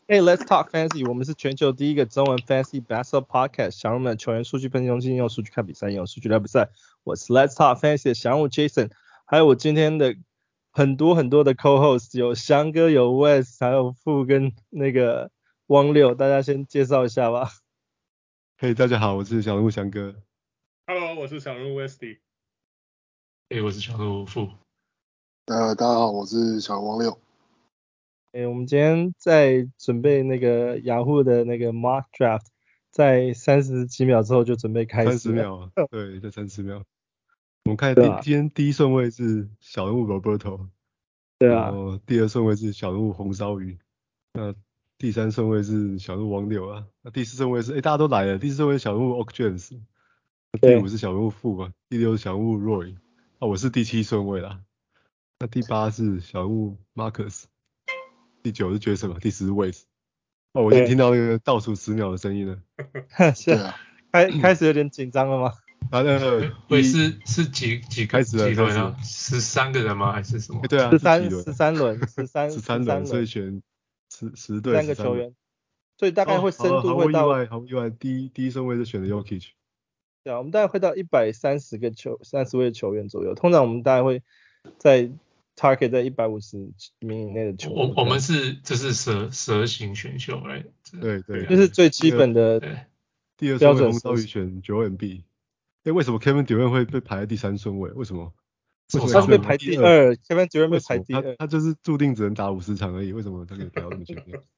Hey, let's talk fantasy. 我們是全球第一個中文 fantasy basketball podcast。小人們球員數據分析中心用數據看比賽，用數據聊比賽。我是 Let's Talk Fantasy 的小人物 Jason， 還有我今天的很多的 co-host， 有翔哥，有 West， 還有富跟那個汪六，大家先介紹一下吧。 嘿，大家好，我是小人物翔哥。 Hello， 我是小人物 Westy。 嘿，我是小人物富。 大家好，我是小人物汪六。 我們今天在準備那個雅虎的那個 mock draft， 在30幾秒之後就準備開始。30 秒，對，在30秒。我們看今天第一順位是小人物 Roberto， 對啊， 然後第二順位是小人物紅燒魚，那第三順位是小人物汪六啊，那第四順位是大家都來了，第四順位是小人物 Oak James， 第五是小人物富啊，第六是小人物 Roy， 我是第7順位啦，那第8是小人物 Marcus。第9是 Jason 嘛，第10是 Wade。我已經聽到那個倒數10秒的聲音了。 是啊，開始有點緊張了嗎？ 會是幾開始了輪啊？13個人嗎？還是什麼？ 對啊 ，13輪，13輪， 所以選10隊 3個球員，所以大概會深度會到。好意外，第一順位是選的 Jokic。 对啊，我們大概會到130位球員左右。通常我們大概會在 target 在150名以內的球員。 我們就是蛇形選秀來。 對， 就是最基本的第二順位紅燒魚選9MB。為什麼 Kevin Durant 會被排在第3順位？為什麼？ 他是被排第2 ，Kevin Durant 被排第2。 他就是注定只能打50場而已，為什麼他可以排到那麼前面？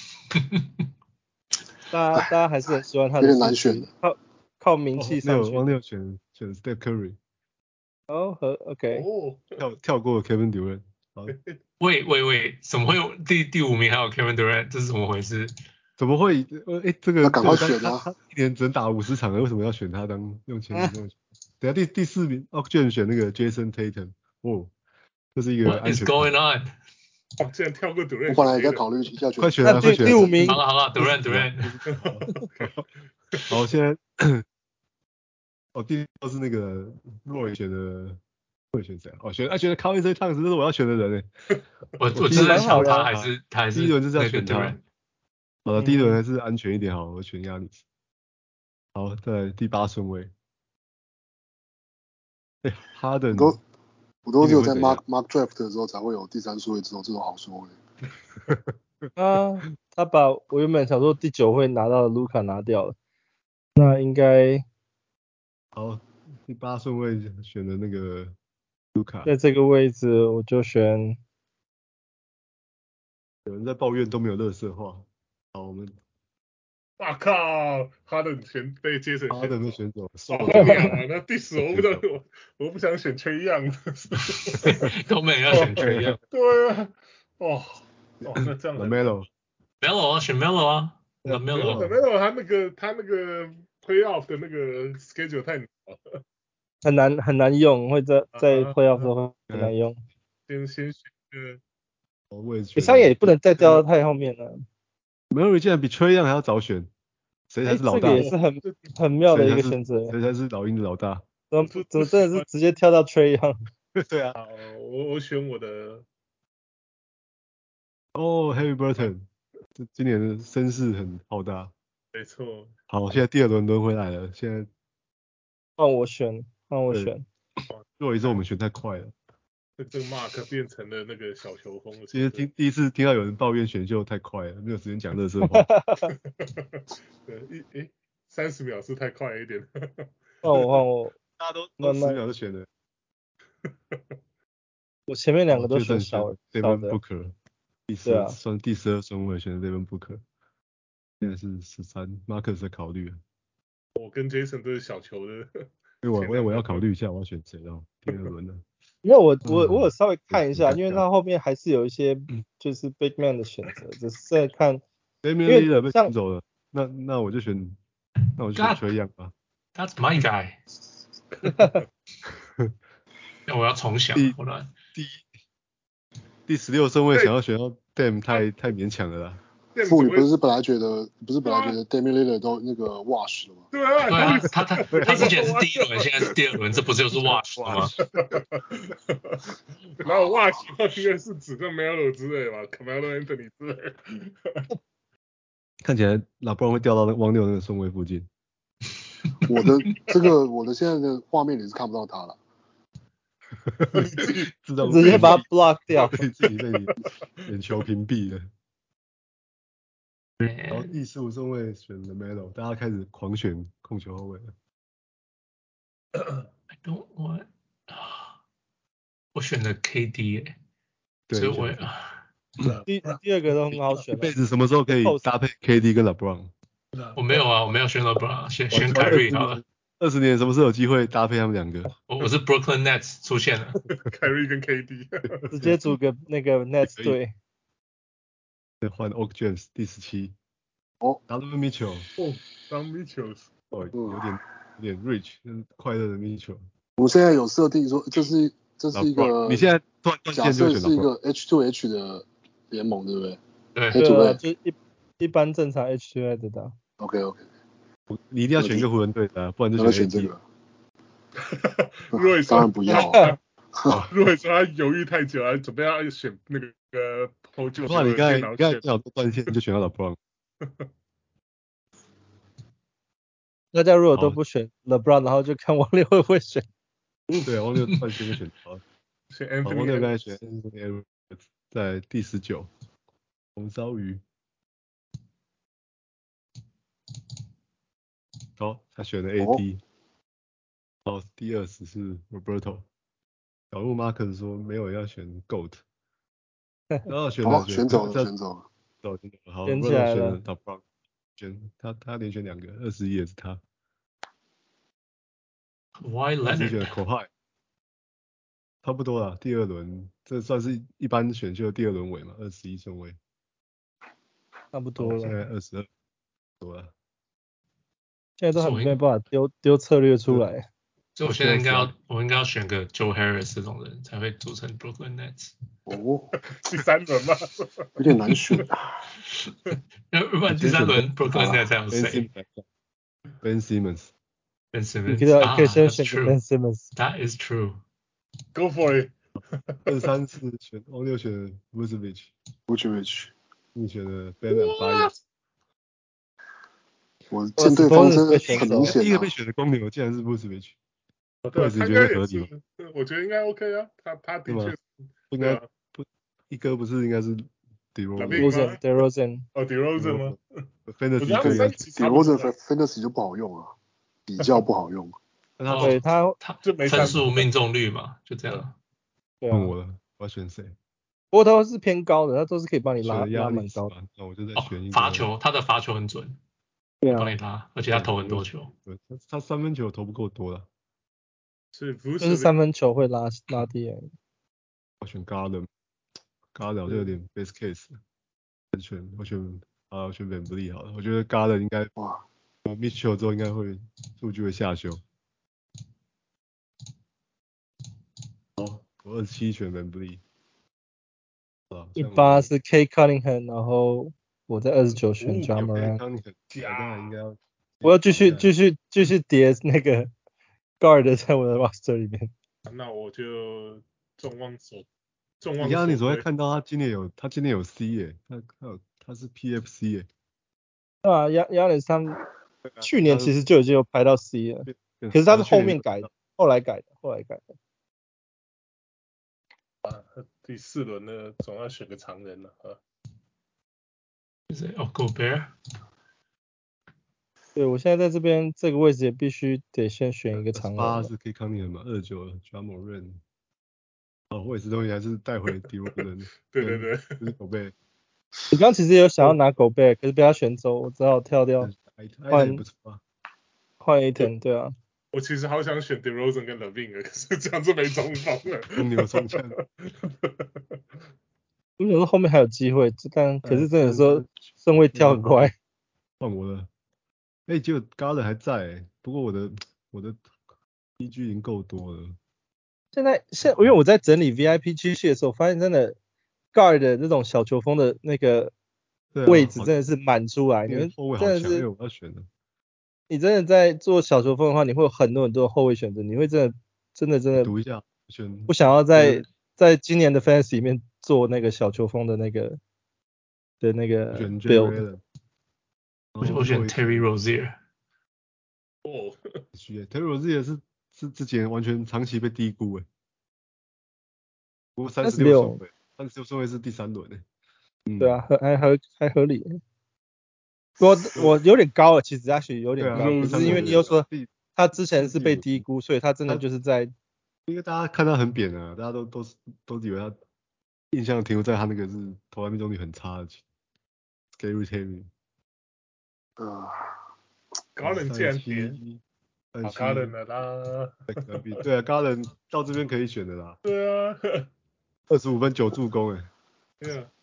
大家還是很喜歡他的。 有點難選的。 靠名氣上去。 汪六選 Steph Curry。 OK。 跳過 Kevin Durant。 喂，怎麼會有第5名還有 Kevin Durant？ 這是怎麼回事？ 怎麼會？這個趕快選啊！ 他一年只能打50場，為什麼要選他當用前名？等下第4名居然選那個 Jason Tatum， 這是一個安全。 What is going on？ 竟然跳過 Durant。 我本來也在考慮一下選。 快選啊！ 第5名。 好了 ，Durant。 好，现在第6是那個 Roy 選的。會選誰？選 Karl Anthony Towns， 這是我要選的人欸。 我真的想他還是第一輪就是要選他。好了，第一輪還是安全一點好，我選亞尼斯。好，在第8順位。哈登。 我都只有在 mock draft 的時候才會有第3順位這種好順位。 他把我原本想說第9會拿到的盧卡拿掉了，那應該。 好，第8順位選的那個。 在這個位置我就選。 有人在抱怨都沒有垃圾話。好，我們。 哇靠！哈登被傑森。 哈登被選走。 那第10我不知道，我不想選Trae Young。 都沒人要選Trae Young。 對啊。那這樣。 Melo 啊，選 Melo 啊。 Melo 他那個 playoff 的那個 schedule 太難了。 很難用，會在 playoff 的時候很難用。 先選比賽也不能再掉到太後面了。 Murray 竟然比 Trae Young 還要早選，誰才是老大？ 這個也是很妙的一個選擇。 誰才是老鷹的老大？ 怎麼真的是直接跳到 Trae Young？ 對啊。 我選我的。 Harry Burton， 今年的聲勢很浩大。 沒錯。 好，現在第2輪輪回來了，現在換我選。 若一次我們選太快了。 這個 Mark 變成了那個小球風。 其實第一次聽到有人抱怨選秀太快了，沒有時間講垃圾話。 對，30秒是太快一點。 換我， 大家都10秒就選了。 我前面2個都選小的。 Devin Booker， 算第12順位選的 Devin Booker， 現在是13 ，Marcus 在考慮。 我跟 Jason 都是小球的。 我要考慮一下我要選誰哦，第2輪的。 因為我有稍微看一下，因為他後面還是有一些就是 big man 的選擇，只是在看。 Damian Lillard 被選走了，那我就選 Trae Young 吧。 That's my guy。那我要重想。 第16順位想要選到 Dame 太勉強了啦。 富宇不是本來覺得 Damian Lillard 都那個 wash 了嗎？ 對啊， 他之前是第1輪，現在是第2輪，這不就是 wash 了嗎？ 然後 wash 應該是指個 Melo 之類吧 ，Carmelo Anthony 之類。 看起來拉布朗會掉到那汪六那個順位附近。 我的現在的畫面你是看不到他了。 直接把它 block 掉， 自己被你眼球屏蔽了。然後第15順位選了 Melo， 大家開始狂選控球後衛了。 I don't want， 我選的 KD 所以我第二個都很好選。 一輩子什麼時候可以搭配 KD 跟 LeBron？ 我沒有啊，我沒有選 LeBron， 選 Kyrie 好了。 20年什麼時候有機會搭配他們兩個？ 我是 Brooklyn Nets 出現了 ，Kyrie 跟 KD， 直接組個那個 Nets 隊。 再換 Oak James 第17。Donovan Mitchell。 Donovan Mitchell。 有點 rich， 快樂的 Mitchell。 我們現在有設定說，這是一個， 你現在斷線就選假設是一個 H2H 的聯盟，對不對？ 对， 就一般正常 H2H 的打。 OK， 你一定要選一個湖人隊的，不然就選這個。 當然不要。 如果說他猶豫太久，準備要選那個投球， 哇，你剛才正好斷線就選到了 LeBron。 大家如果都不選 LeBron， 然後就看王六會不會選。 對啊，王六斷線就選到。王六剛才選 Anthony Edwards 在第19。紅燒魚。好，他選了 AD。好，第20是 Roberto。小鹿 Marcus 說沒有要選 GOAT。然後選走了。好， 選起來了。 他連選2個，21也是他。 Why Leonard？ 選 Kawhi。差不多啦，第2輪，這算是一般選秀的第2輪尾嘛，21順位。 差不多了。 現在22多了。 現在都還沒辦法丟策略出來。 所以我現在應該要選個 Joe Harris 這種人才會組成 Brooklyn Nets。 第3輪嗎？ 有點難選。 要不然第3輪 Brooklyn Nets 還有誰 ？Ben Simmons。 你可以先選 Ben Simmons。 That is true. Go for it. 23次選王六選 Vucevic。你選了 Ben Adebayo。 我舰隊方針很明顯。 第一個被選的公牛竟然是 Vucevic。 对， 你觉得合理吗？ 我覺得應該 OK 啊，他的確應該不一哥不是應該是 DeRozan。 哦 DeRozan 嗎 ？DeRozan Fantasy 就不好用啊，比較不好用。 對他就沒分數命中率嘛，就這樣。 問我了，我要選誰？ 不過他是偏高的，他都是可以幫你拉蠻高的。 那我就再選一個。 罰球，他的罰球很準，幫你拉，而且他投很多球。 他3分球投不夠多了。 就是3分球會拉低。 我選 Garland 好像有點 best case。我選 VanVleet 好了，我覺得 Garland 應該Mitchell 之後應該會數據會下修。好，我27選 VanVleet。 18是 K Cunningham， 然後我在29選 Ja Morant。我要繼續疊那個 guard 在我的 roster 裡面。 那我就眾望所歸。你昨天看到他今年有 C 耶，他是 PFC 耶。 對啊，Giannis 他去年其實就已經有排到 C 了，可是他是後面改的，後來改的。 第4輪呢，總要選個長人了啊。 Gobert。 對，我現在在這邊這個位置也必須得先選一個長人。 8是 K Cunningham嘛，29了 Ja Morant。我也是東西還是帶回 DeRozan。 對。 不是 Gobert。 你剛其實有想要拿 Gobert，可是被他選走，我只好跳掉。換 Ayton， 對啊。 我其實好想選 DeRozan 跟 LaVine 可是這樣就沒中鋒了。 公牛雙槍。 我想說後面還有機會，但可是真的說順位跳很快。 換我了。結果 Garland 還在，不過我的 PG 已經夠多了。 現在因為我在整理 VIP 區系的時候，發現真的 Guard 的這種小球風的那個位置真的是滿出來。你們真的是， 我要選的。 你真的在做小球風的話，你會有很多的後衛選擇，你會真的讀一下， 不想要在今年的 Fantasy 裡面做那個小球風的那個 build。 我選 Terry Rozier。 哦 ，Terry Rozier 是之前完全長期被低估不過36順位，36順位是第3輪對啊，還合理。我有點高了，其實actually有點高，可是因為你又說他之前是被低估，所以他真的就是在， 因為大家看他很扁啊，大家都以為他印象停留在他那個是投籃命中率很差的 Scary Terry。 高人竟然點高人了啦。 對啊，高人到這邊可以選的啦。 對啊 ，25分9助攻對啊。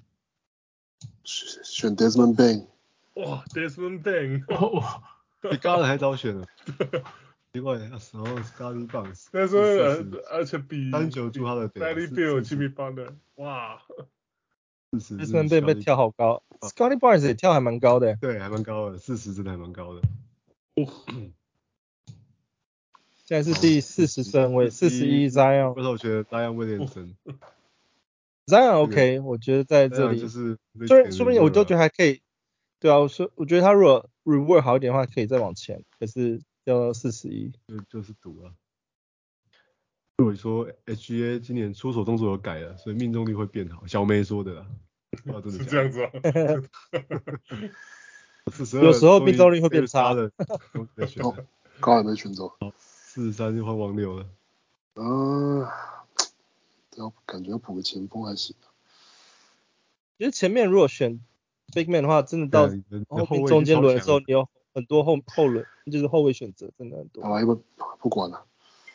選 Desmond Bane。 哇 ，Desmond Bane， 比高人還早選了。奇怪，然後 Scottie Barnes， 那时候而且比 39助他的 Bradley Beal、Jimmy Butler， 哇 ，Desmond Bane 被跳好高 ，Scottie Barnes 也跳還蠻高的。 對，還蠻高的，40真的還蠻高的。 現在是第40順位，41 Zion。 我觉得 Zion Williamson。Zion OK， 我覺得在這裡就是， 說不定我都覺得還可以。對啊，我覺得他如果 reward 好一點的話，可以再往前。可是要41， 就是賭啊。如果說 HGA 今年出手動作有改了，所以命中率會變好。小梅說的啦， 是這樣子有時候命中率會變差的。 高人沒選走。 43就換王六了。 感覺要補個前鋒還行。 其實前面如果選 Big Man 的話，真的到後面中間輪的時候，你有很多後輪，就是後衛選擇真的很多。 好，因為不管了。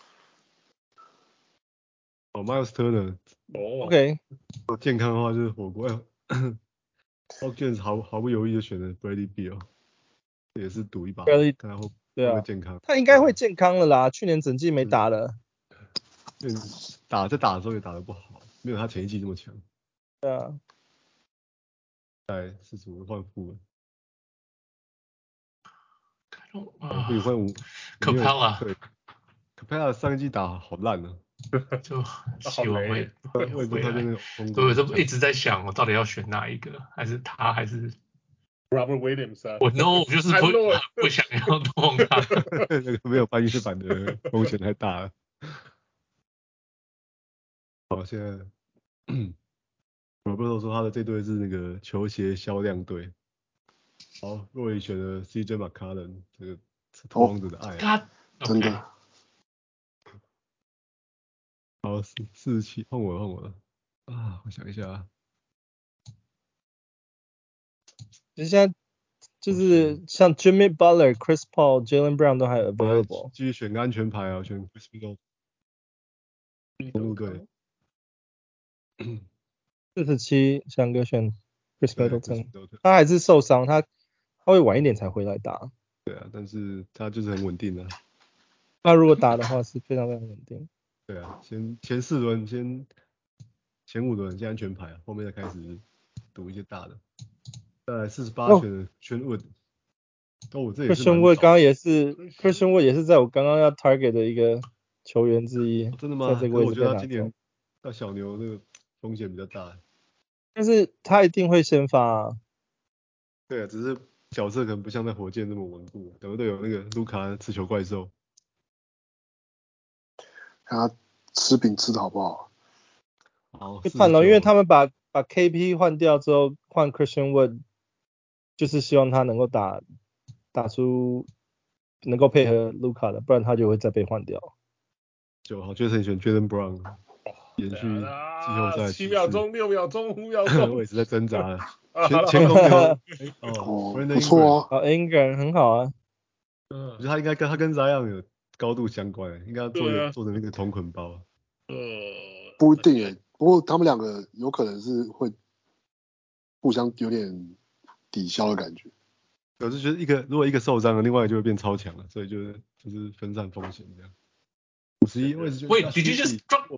Miles Turner。OK。健康的話就是火鍋。Hawkins 毫不猶豫就選了 Bradley Beal， 也是賭一把，看他會不會健康。 他應該會健康了啦，去年整季沒打了。 在打的時候也打得不好，沒有他前一季這麼強。 對啊。 在45換副了。 不換5。 Capella。 對 ，Capella 上一季打好爛啊。 就希望會回來。我都一直在想，我到底要選哪一個，還是他，還是 Robert Williams 啊？ 我 no， 我就是不想要动他。 那個沒有半月板的風險太大了。好，現在Roberto 說他的這隊是那個球鞋銷量隊。好，若雨選了 CJ McCollum， 這個是拓荒者的愛。 真的。 好，47換我了啊！我想一下啊。 其實現在就是像 Jimmy Butler、Chris Paul、Jaylen Brown 都還 available。 繼續選個安全牌啊，選 Chris Middleton。公路隊。 47翔哥選 Chris Middleton， 他還是受傷，他會晚一點才回來打。 對啊，但是他就是很穩定的。 他如果打的話是非常非常穩定。 對啊，前4輪前5輪先安全牌，後面再開始賭一些大的。再來48選的 Christian Wood。這也是 Christian Wood 剛剛也是 Christian Wood 也是在我剛剛要 target 的一個球員之一。 真的嗎？可是我覺得他今年到小牛那個風險比較大。 但是他一定會先發啊。 對啊，只是角色可能不像在火箭那麼穩固。有的有那個盧卡持球怪獸。 看他吃餅吃的好不好？ 好， 看了，因為他們把 KP 換掉之後換 Christian Wood， 就是希望他能夠打出能夠配合盧卡的，不然他就会再被換掉。 9號就是選 Jaylen Brown， 延續季後賽 7秒鐘、6秒鐘、5秒鐘， 我也是在掙扎了。前公牛不錯啊 ，Ingram 很好啊。 我覺得他应該跟 Zion 有高度相關，應該做的那個同捆包。 不一定耶，不過他們兩個有可能是會互相有點抵消的感覺。 我是覺得如果一個受傷了，另外一個就會變超強了，所以就是分散風險這樣。51位置就。 Wait, did you just drop?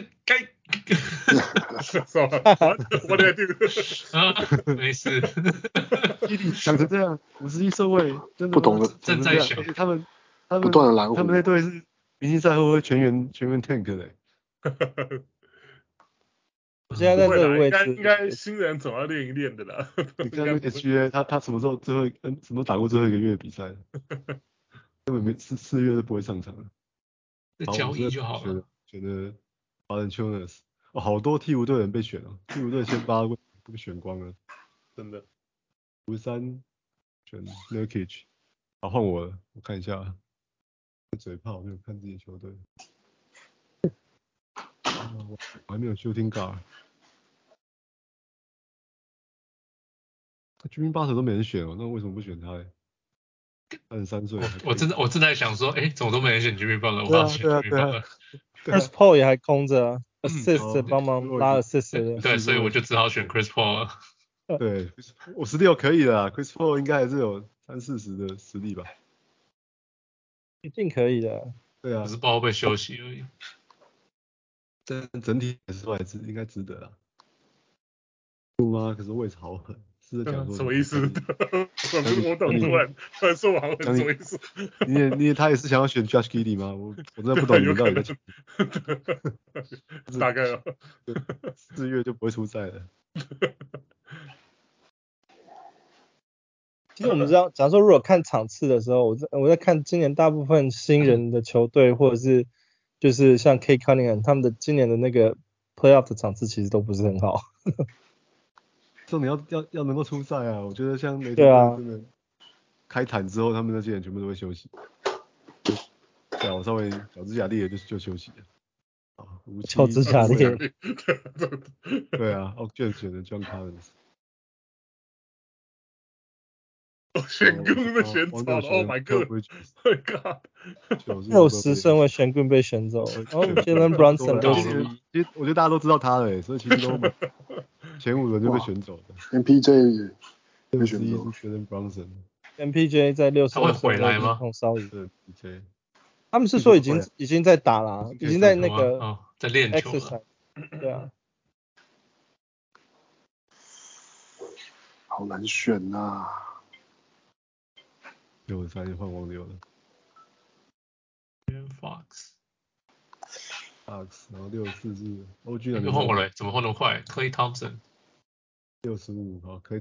我得定。 沒事。 想成這樣，51順位真的不懂的正在想， 而且他們不斷的攔湖， 他們那隊是明星賽會不會全員 tank 的？ 我現在在這個位置， 應該新人總要練一練的啦。 你看那個 SGA， 他什麼時候什麼打過最後一個月比賽？根本没4月都不會上場了。 交易就好了。 選的 Valanciunas， 好多鹈鶘隊人被選了，鹈鶘隊先發被選光了， 真的。 53選 Nurkic， 好換我了，我看一下，嘴炮沒有看自己球隊，我還沒有 shooting guard。Jimmy Butler 都沒人選哦，那為什麼不選他嘞？33歲。 我正在想說，怎麼都沒人選 Jimmy Butler， 我要選 Jimmy Butler。Chris Paul 也還空着，assist 幫忙拉 assist。 对，所以我就只好選 Chris Paul 了。 对，16可以的 ，Chris Paul 應該還是有30-40的實力吧？ 一定可以的。 對啊， 只是不知道會不會休息而已。 但整體來說還是應該值得啦。不嗎？可是位置好狠，是在講說什麼意思？我懂，突然說我好狠，什麼意思？ 他也是想要選 Josh Giddey 嗎？我真的不懂你們到底在講。 大概哦。 4月就不會出賽了。 其實我們知道，假如說如果看場次的時候，我在看今年大部分新人的球隊，或者是就是像 Cade Cunningham 他們的今年的那個 playoff 的场次其實都不是很好。 重點要能夠出賽啊！我覺得像雷霆真的開壇之後，他們那些人全部都會休息。對啊，我稍微腳趾甲裂就休息了。啊， 腳趾甲裂。 對啊，Ogden 選的 John Collins。 玄棍被選走了 ，Oh my God！ 60顺位玄棍被選走，然後 Jalen Brunson 61。 其實我覺得大家都知道他了，所以其實都前5輪就被選走了。 MPJ 被選走 ，Jalen Brunson。MPJ 在60 他会回来嗎？ MPJ 他們是說已經在打了，已經在那個在練球了。 对啊。 好難選吶。 63換王流了。 Fox， 然後64是 OG 又換我了，怎麼換那麼快 ？Klay Thompson。 65，好 ，Klay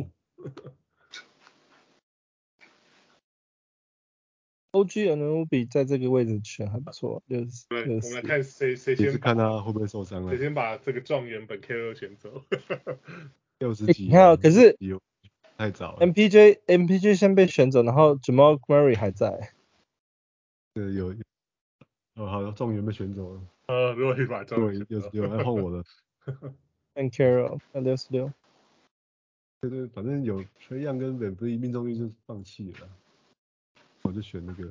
Thompson。OG Anunoby 在這個位置選還不錯， 對，我們來看誰先。 也是看他會不會受傷了。 誰先把這個狀元本 K2 選走。 60幾。 你看，可是太早了。 MPJ 先被選走，然後 Jamal Murray 還在。 有。好，狀元被選走了。 如果你把狀元 66，換我了。 And Carroll 66。 對，反正有 Trae Young 跟 VanVleet 命中率就放棄了。我就選那個。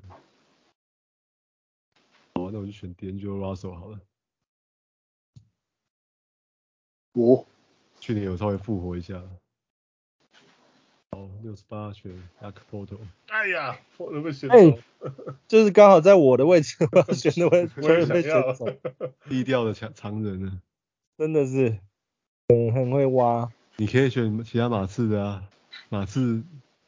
好，那我就選 D'Angelo Russell 好了。去年有稍微復活一下。好，68選 Jakob Poeltl。 哎呀，我都被選走。 就是剛好在我的位置，我要選的位置我也被選走。 低調的常人呢？ 真的是很會挖。 你可以選其他馬刺的啊，馬刺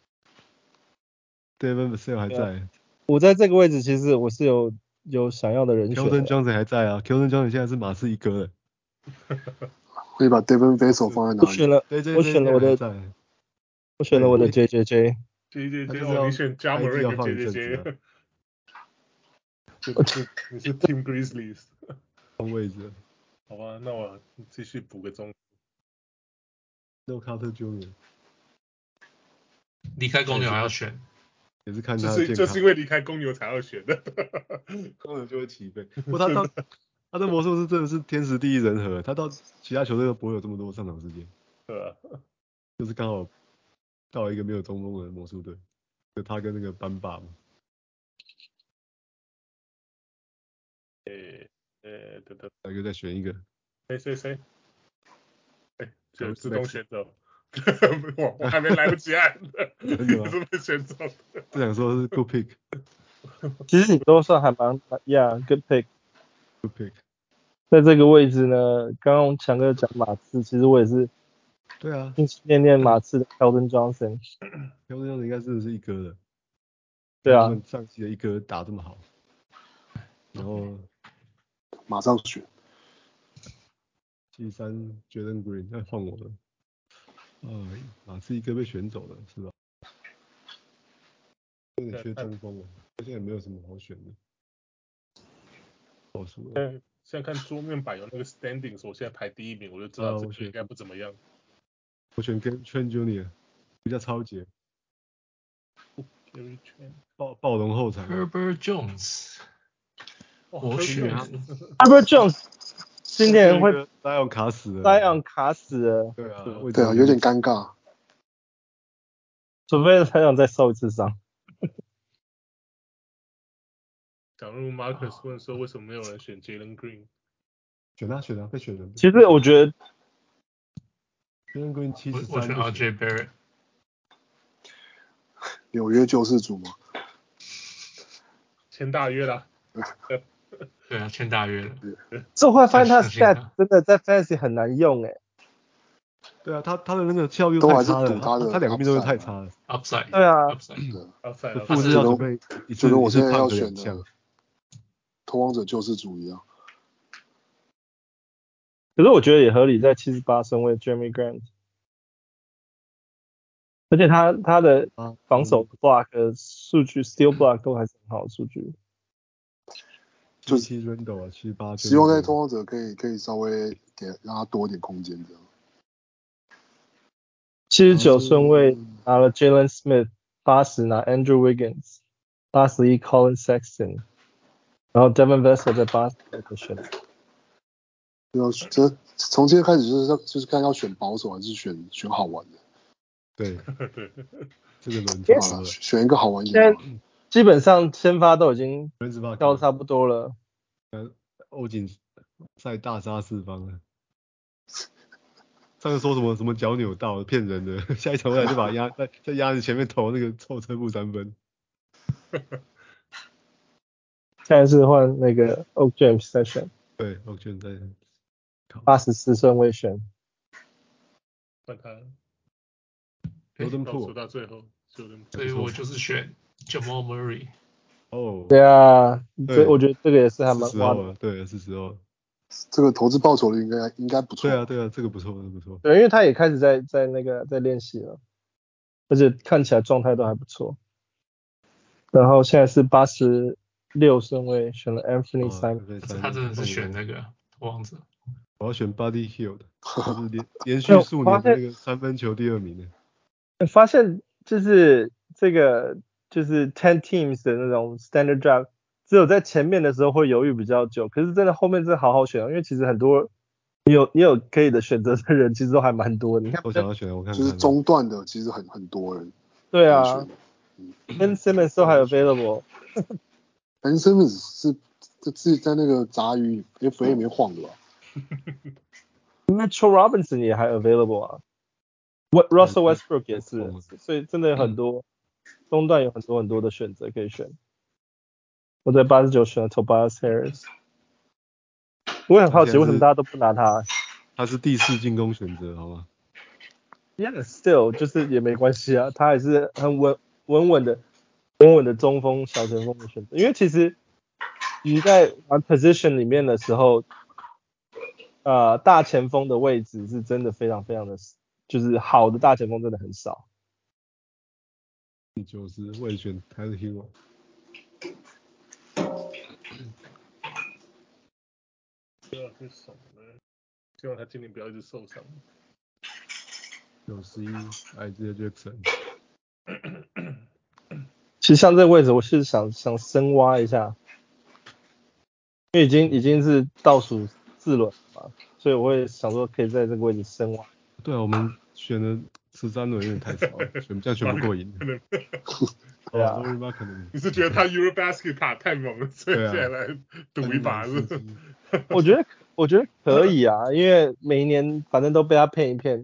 Devin Vassell 還在。 我在這個位置其實我是有想要的人選。 Keldon Johnson 還在啊 ，Keldon Johnson 現在是馬刺一哥了。 可以把 Devin Vassell 放在哪裡？ 我選了我的 JJJ。 JJJ 你選 Ja Morant 跟 JJJ。你是 Team Grizzlies。 換位置。 好吧，那我繼續補個中。 No Carter Jr. 離開公牛還要選。 也是看他的健康。 就是因為離開公牛才要選的。 公牛就會起飛。不過他的魔術師真的是天時地利人和，他到其他球隊都不會有這麼多上場時間。 對啊。 就是剛好到一個沒有中鋒的魔術隊，就他跟那個班霸嘛。哪個再選一個？ 誰？就自動選走。我還沒來不及按。真的嗎？被選走。 不想說是 good pick。 其實你都算還蠻 ，good pick。good pick。 在這個位置呢，剛剛強哥講馬刺，其實我也是。 對啊。 念馬刺的 Keldon Johnson。Keldon Johnson 應該真的是一哥的。 對啊。 他們上期的一哥打這麼好，然後馬上選。 73 Jalen Green， 那換我了。马刺一個被選走了，是吧？有點缺中鋒了，現在也沒有什麼好選的。 現在看桌面擺有那個 standings， 我現在排第一名，我就知道這個應該不怎麼樣。 我選 Trent Junior， 比較超傑。暴龍後場 Herbert Jones， 我選 Herbert Jones， 今年會 Zion卡死了。 Zion卡死了。 对啊， 有點尷尬。 除非Zion再受一次傷。 假如 Marcus 問說為什麼沒有人選 Jalen Green？ 選他，被選了。 其實我覺得 Jalen Green 73， 我選 RJ Barrett。 紐約救世主嗎？ 簽大約啦。 對啊，簽大約了。 這會發現他 stat 真的在 Fantasy 很難用哎。 對啊，他的那個效率太差了，他兩個命中率太差了。 Upside。 對啊。 Upside。 不是要準備一次我现在要選的拓荒者救世主一樣。 可是我覺得也合理，在78順位 Jeremy Grant。而且他的防守 block 數據 steal block 都還是很好的數據。 就是 Randle 啊，78。 希望在拓荒者可以稍微讓他多一點空間這樣。 79順位拿了 Jalen Smith， 80拿 Andrew Wiggins， 81 Colin Sexton， 然後 Devin Vassell 在80個選。 這從今天開始就是看要選保守還是選好玩的。 對，這個輪好了，選一個好玩一點。 基本上先發都已經到差不多了。 歐錦賽大殺四方了。上次說什麼腳扭到，騙人的。下一場回來就把在壓你前面投那個臭車步3分。 現在是換那個 Oak James 在選。 對 ，Oak James 在選。 84順位選。 換他。 倒到最後， 所以我就是選 Jamal Murray。 对啊，我覺得這個也是還蠻花的。對，是時候。 這個投資報酬率應該不錯。 對啊，這個不錯， 對，因為他也開始在練習了，而且看起來狀態都還不錯。然後現在是86順位選了 Anthony Simons。 他真的是選那個王者。 我要選 Buddy Hield， 他是連續數年的那個三分球第2名的。 發現就是這個就是10 teams 的那種 standard draft， 只有在前面的時候會猶豫比較久，可是真的後面真的好好選，因為其實很多你有可以的選擇的人其實都還蠻多的。你看我想要選，我看就是中段的其實很多人。 對啊，Ben Simmons 都還 available。Ben Simmons 是在那個雜魚 FA 裡面晃的吧 ？Mitchell Robinson 也還 available 啊。Russell Westbrook 也是，所以真的有很多中段有很多的選擇可以選。我在89選了 Tobias Harris， 我也很好奇為什麼大家都不拿他。 他是第4進攻選擇，好嗎 ？Yeah, still 就是也沒關係啊，他還是很穩穩的中鋒小前鋒的選擇。因為其實你在玩 position 裡面的時候，大前鋒的位置是真的非常非常的。就是好的大前鋒真的很少。 第90我也選 Tyler Hero。 希望他今年不要一直受傷。 91 Isaiah Jackson。 其實像這個位置，我是想深挖一下，因為已經是倒數4輪了嘛，所以我會想說可以在這個位置深挖。 對啊，我們選了13輪有點太少了，這樣選不過癮。 對啊， 你是覺得他 Eurobasket 打太猛了，所以現在來賭一把是？ 我覺得可以啊，因為每一年反正都被他騙一騙。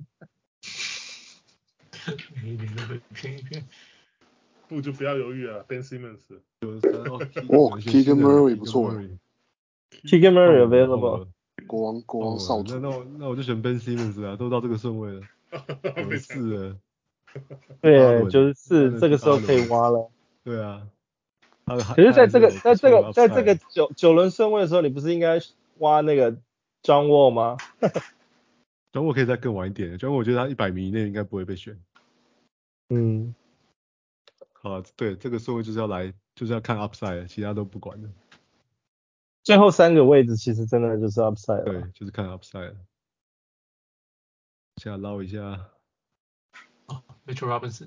每一年都被騙一騙。 不就不要猶豫了 ，Ben Simmons。 Keegan Murray 不錯。 Keegan Murray available。 國王少主。 那我就選 Ben Simmons 啊，都到這個順位了。94了。 對，94這個時候可以挖了。 對啊。 可是在這個9輪順位的時候，你不是應該挖那個 John Wall 嗎？ John Wall可以再更晚一點，John Wall我覺得他100名以內應該不會被選。好，對，這個順位就是要看 upside， 其他都不管了。 最後3個位置其實真的就是 upside 了。 對，就是看 upside。下撈一下。 Mitchell Robinson。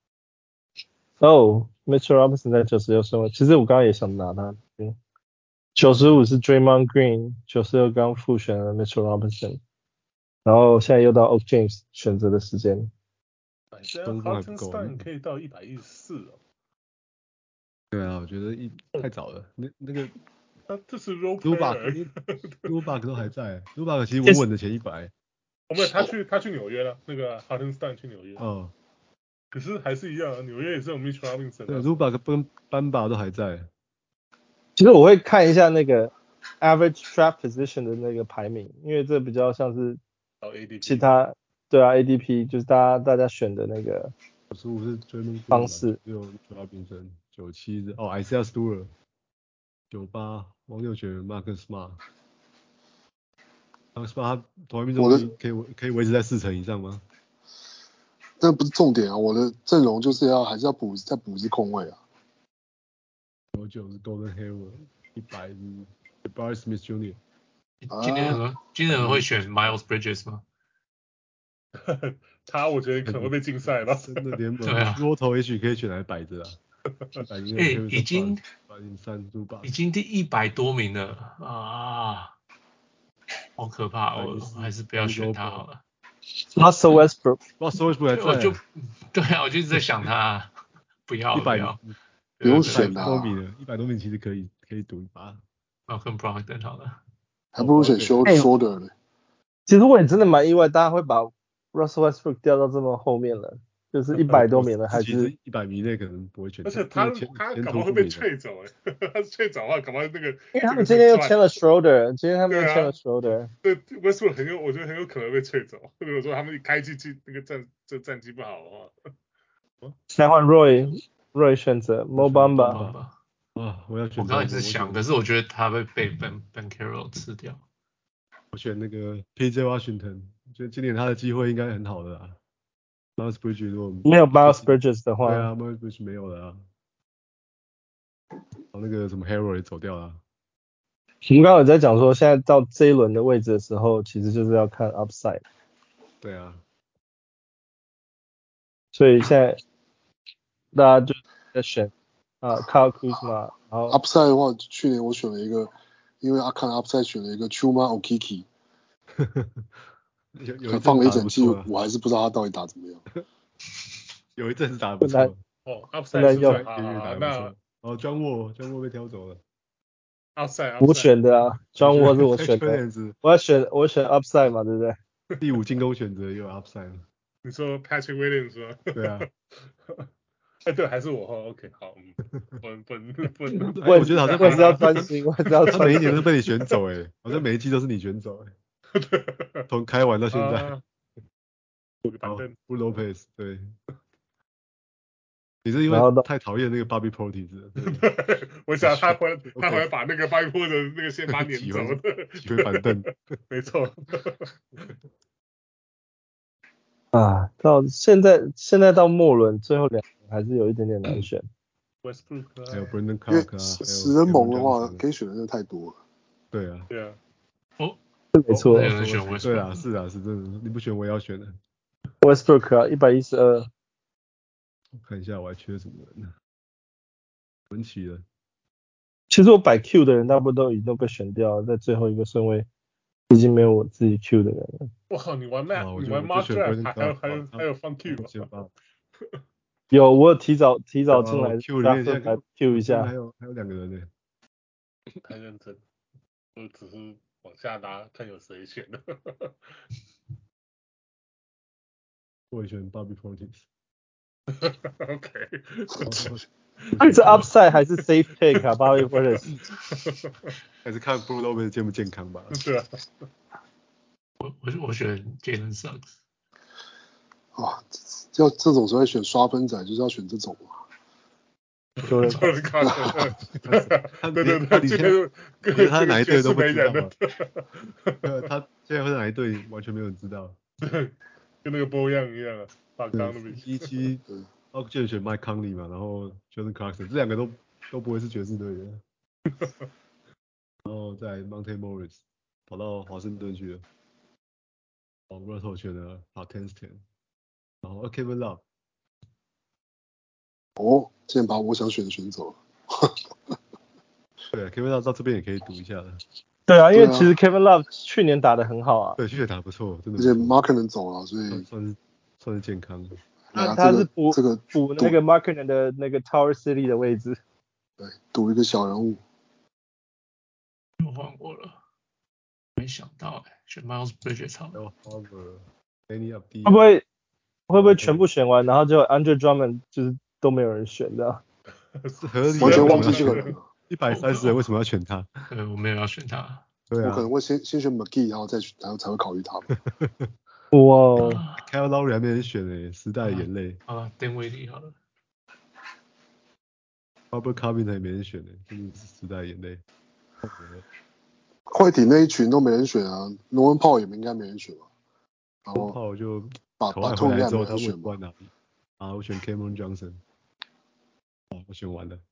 Mitchell Robinson 在96順位，其實我剛剛也想拿他。95是 Draymond Green， 96剛複選了 Mitchell Robinson， 然後現在又到 Oak James 選擇的時間。 中鋒還不夠，可以到114哦。 對啊，我覺得太早了。那個， 這是 role player，Zubac 都還在，Zubac 其實穩穩的前100。 沒有，他去紐約了，那個 Hartenstein 去紐約。可是還是一樣，紐約也是有 Mitchell Robinson。 對 ，Zubac 跟班巴都還在。 其實我會看一下那個 average draft position 的那個排名，因為這比較像是其他對啊 ADP 就是大家選的那個 95是追夢方式。 只有 Robinson 97是Isaiah Stewart 98王六選 Marcus Smart。Marcus Smart 他投篮命中率可以維持在40%以上嗎？ 那不是重點啊，我的陣容就是還是要再補一支空位啊。 99是 Gordon Hayward，100是 Jabari Smith Jr。 今年會選 Miles Bridges 嗎？ 他我覺得可能會被禁賽吧。 真的聯盟， 對啊， 多頭也許可以選來擺着啊。 已經第100多名了啊，好可怕！我還是不要選他好了。 Russell Westbrook 還在。 對啊，我就一直在想他，不要。 不用選 100多名了，100多名其實可以賭一把。 Malcolm Brogdon 好了， 還不如選 Schroeder 呢。 其實我也真的蠻意外，大家會把 Russell Westbrook 掉到這麼後面了，就是100多名了，還是 100名內可能不會選。 而且他搞不好會被trade走他trade走的話，搞不好那個。因為他們今天又簽了 Schroeder， 今天他們又簽了 Schroeder。 對 ，Westbrook 我覺得很有可能被trade走。如果說他們一開季那個戰績不好的話， 再換 Roy 選擇 Mo Bamba。 我要選。 我剛才也是想，可是我覺得他會被 Ben Carroll 吃掉。 我選那個 PJ Washington， 覺得今年他的機會應該很好的啦。Miles Bridges 如果沒有 Miles Bridges 的話， 對啊 ，Miles Bridges 沒有了啊。那個什麼 Harold 也走掉了。 我們剛剛有在講說，現在到這一輪的位置的時候，其實就是要看 upside。 對啊。 所以現在大家就在選Kyle Kuzma，然後 upside 的話，去年我選了一個，因為看 upside 選了一個 Chuma Okeke。放了一整季，我還是不知道他到底打怎麼樣。 有一陣子打得不錯。 upside 是打得不錯。John Wall 被挑走了。 upside 我選的啊 ，John Wall 是我選的。我選 upside 嘛，對不對？ 第5進攻選擇也有 upside。 你說 Patrick Williams 嗎？ 對啊。 對，還是我OK， 好，不， 我覺得好像我是要專心， 他每一年都被你選走好像每一季都是你選走從開完到現在。Brook Lopez 對。你是因為太討厭那個 Bobby Portis 了。 我想他回來把那個 Bobby Portis 的那個先把攆走的， 擠回板凳。 沒錯。 到現在到末輪最後2個還是有一點點難選。 Westbrook 還有 Brandon Clark 死人盟的話可以選的真的太多了。 對啊。 没錯。 對啊，是真的，你不選我也要選的。 Westbrook 112。 我看一下我還缺什麼人呢？文奇了。 其實我擺 Q 的人大部分都已經被選掉了，在最後一個順位已經沒有我自己 Q 的人了。 我靠，你玩 Mock Draft 還有放 Q 有，我有提早進來 Q 裡面來 Q 一下。 還有2個人呢。 太認真，我只是往下拉，看有誰選的。 我也選 Bobby Portis。OK。 是 upside 還是 safe pick 啊 ？Bobby Portis。 還是看 Brook Lopez 健不健康吧。 對啊。 我選 Jalen Suggs。 要這種时候選刷分仔，就是要選這種嘛。 Jordan Clarkson，对， 他今天他哪一队都不知道嘛。 他现在会在哪一队完全没有人知道。 对，跟那個波樣一樣啊，反剛的比 17Ogden 選 Mike Conley 嘛，然後 Jordan Clarkson 這兩個都不會是爵士隊的。然後在 Monte Morris 跑到華盛頓去了。Russell 選了 Hartenstein， 然後 Kevin Love。 竟然把我想選的選走了。 對 ，Kevin Love 到這邊也可以賭一下的。 對啊，因為其實 Kevin Love 去年打得很好啊。 對，去年打得不錯，真的。 而且 Markkanen 走了，所以算是健康。 他是補那個 Markkanen 的那個 Tower City 的位置。 對，賭一個小人物。 又換過了，沒想到選 Miles Bridges 好了。 會不會全部選完，然後就 Andre Drummond 就是都沒有人選的？ 是合理的。 完全忘記這個人了。 130人為什麼要選他？ 對，我沒有要選他。 對啊。 我可能會先選 McGee，然後才會考慮他。 哇 Kyle Lowry 還沒人選誒，時代的眼淚。 好了，丁威迪好了。 Robert Covington 也沒人選誒，真的是時代的眼淚。 快艇那一群都沒人選啊 ，Norman Powell 也應該沒人選吧？然後 Powell 就把兔應該沒人選吧？ 我選 Cameron Johnson。我選完了。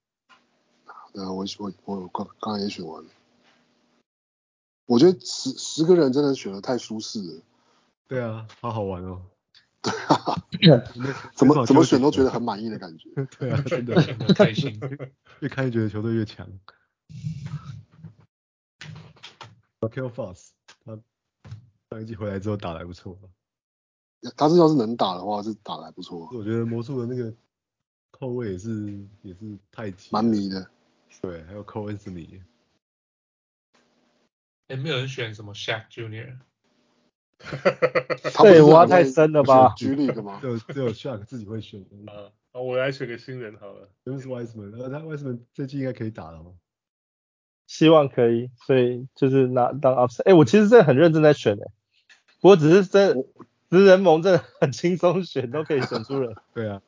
我剛才也選完了。我覺得10個人真的選得太舒適了。 對啊，好好玩哦。 對啊，怎麼選都覺得很滿意的感覺。 對啊，真的很開心。 越看越覺得球隊越強。Markelle Fultz 他上一季回來之後打得還不錯。 他要是能打的話，是打得還不錯。 我覺得魔術的那個後衛也是太極， 蠻迷的。 對，還有 Cole Anthony。 沒有人選什麼 Shaq Junior。 對，挖太深了吧 ？G League 嗎？ 只有 Shaq 自己會選。 我來選個新人好了。 James Wiseman，他 Wiseman 這季應該可以打了嗎？ 希望可以，所以就是當 upside。我其實真的很認真在選不過只是職人盟真的很輕鬆選，都可以選出人。 對啊。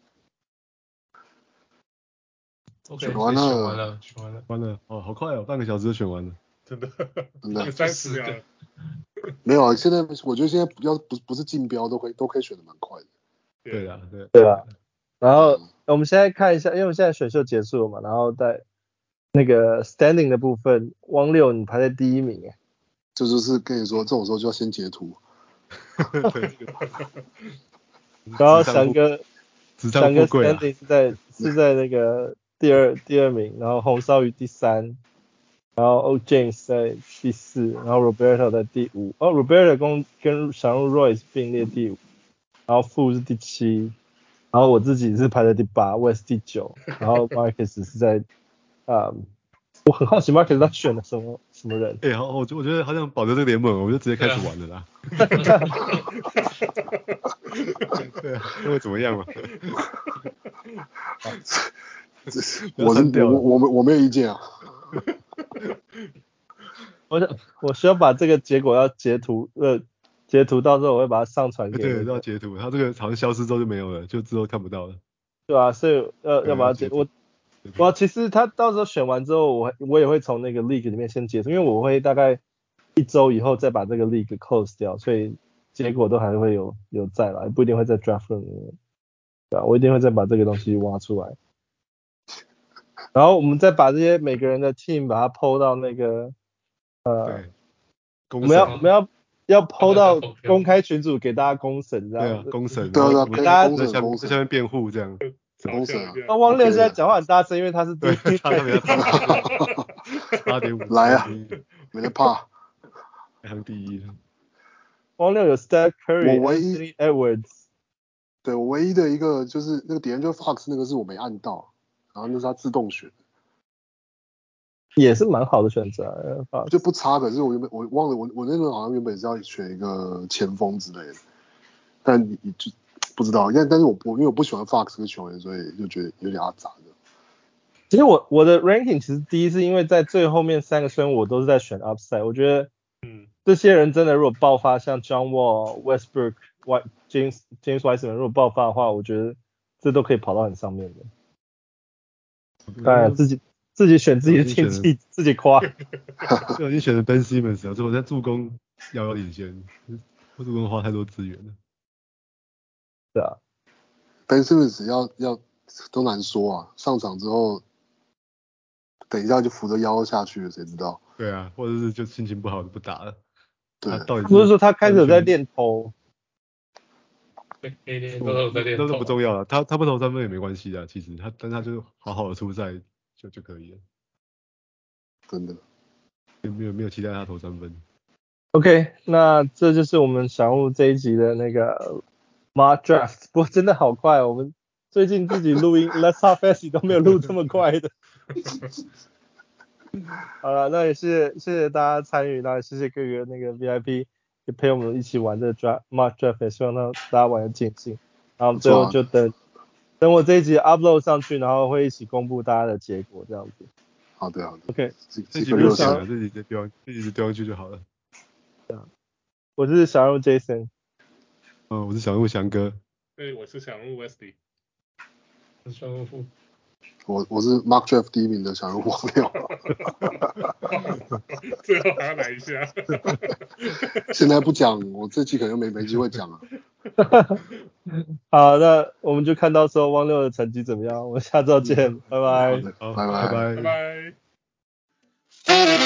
OK， 選完了。 哦，好快哦，半個小時就選完了。 真的 30 秒。 沒有啊，現在我覺得現在要不是競標都可以選得蠻快的。 對啊。 然後我們現在看一下，因為我們現在選秀結束了嘛，然後在那個 standing 的部分，汪六你排在第1名哎。 這就是跟你說，這種時候就要先截圖。 然後翔哥 standing 是在那個第二名，然後紅燒魚第3。然後 O James 在第4，然後 Roberto 在第5。Roberto 跟小人物 Royce 並列第5，然後富是第7，然後我自己是排在第8，我也是第9，然後 Marcus 是在我很好奇 Marcus 他選了什麼人？ 好，我覺得好像保留這個聯盟，我就直接開始玩了啦。對啊，那會怎麼樣嘛？ 我沒有意見啊。 我需要把這個結果要截圖，到時候我會把它上傳給對，要截圖，它這個好像消失之後就沒有了，就之後看不到了。 對啊，所以要把它截。我其實他到時候選完之後，我也會從那個 league 裡面先截圖，因為我會大概1周以後再把這個 league close 掉，所以結果都還會有在來，不一定會在 draft room 裡面。對啊，我一定會再把這個東西挖出來。然後我們再把這些每個人的 team 把它 po 到那個我們要 po 到公開群組給大家公審，這樣。 對啊，公審。 對啊， 給大家在下面辯護這樣。 公審啊。 那汪六現在講話很大聲，因為他是第一。 8.5。 來啊，沒得怕。 排行第1。 汪六有 Steph Curry、Anthony Edwards。 對，我唯一的一個就是那個 D'Angelo Fox 那個是我沒按到，然後那是他自動選。 也是蠻好的選擇啊， 就不差。可是我忘了，我那個好像原本是要選一個前鋒之類的，但你就不知道。但是因為我不喜歡 Fox 這個球員，所以就覺得有點阿雜的。 其實我的 ranking 其實第一是因為在最後面3個順位我都是在選 upside， 我覺得這些人真的如果爆發，像 John Wall、Westbrook、James Wiseman 如果爆發的話，我覺得這都可以跑到很上面的。 當然自己選自己的天氣，自己誇。 就已經選了 Ben Simmons 了，所以我在助攻遙遙領先，助攻花太多資源了。 对啊 ，Ben Simmons 要都難說啊，上場之後，等一下就扶着腰下去了，誰知道？ 對啊，或者是就心情不好就不打了。 對， 不是說他開始有在練投。 那都不重要了，他不投三分也沒關係的，其實但他就好好的出賽就可以了。 真的。 沒有期待他投三分。 OK， 那這就是我們小人物這一集的那個 Mock Draft。不過真的好快哦，我們最近自己錄音 Let's Talk Fantasy 都沒有錄這麼快的。好了，那也謝謝大家參與，那也謝謝各個那個 VIP 也陪我們一起玩這個 Mock Draft， 也希望大家玩得盡興。然後最後就等我這一集 upload 上去，然後會一起公布大家的結果這樣子。 好的。 OK， 這集不用想了，這集丟上去就好了。 我是小人物 Jason。 我是小人物翔哥。 对，我是小人物 Westy。 我是小人物富。 我是 Mock Draft 第1名的小人物王六。 最後還要來一下。 現在不講，我這期可能沒機會講了。 好，那我們就看到時候汪六的成績怎麼樣，我們下周見，拜拜。 拜拜。 拜拜。